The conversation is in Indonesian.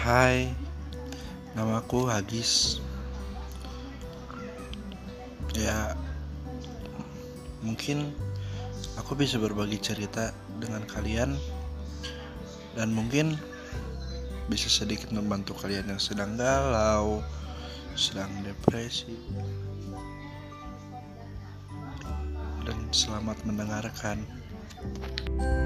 Hai, namaku Hagis. Ya, mungkin aku bisa berbagi cerita dengan kalian dan mungkin bisa sedikit membantu kalian yang sedang galau, sedang depresi. Dan selamat mendengarkan.